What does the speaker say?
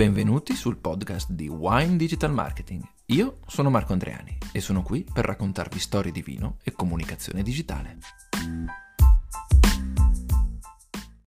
Benvenuti sul podcast di Wine Digital Marketing. Io sono Marco Andreani e sono qui per raccontarvi storie di vino e comunicazione digitale.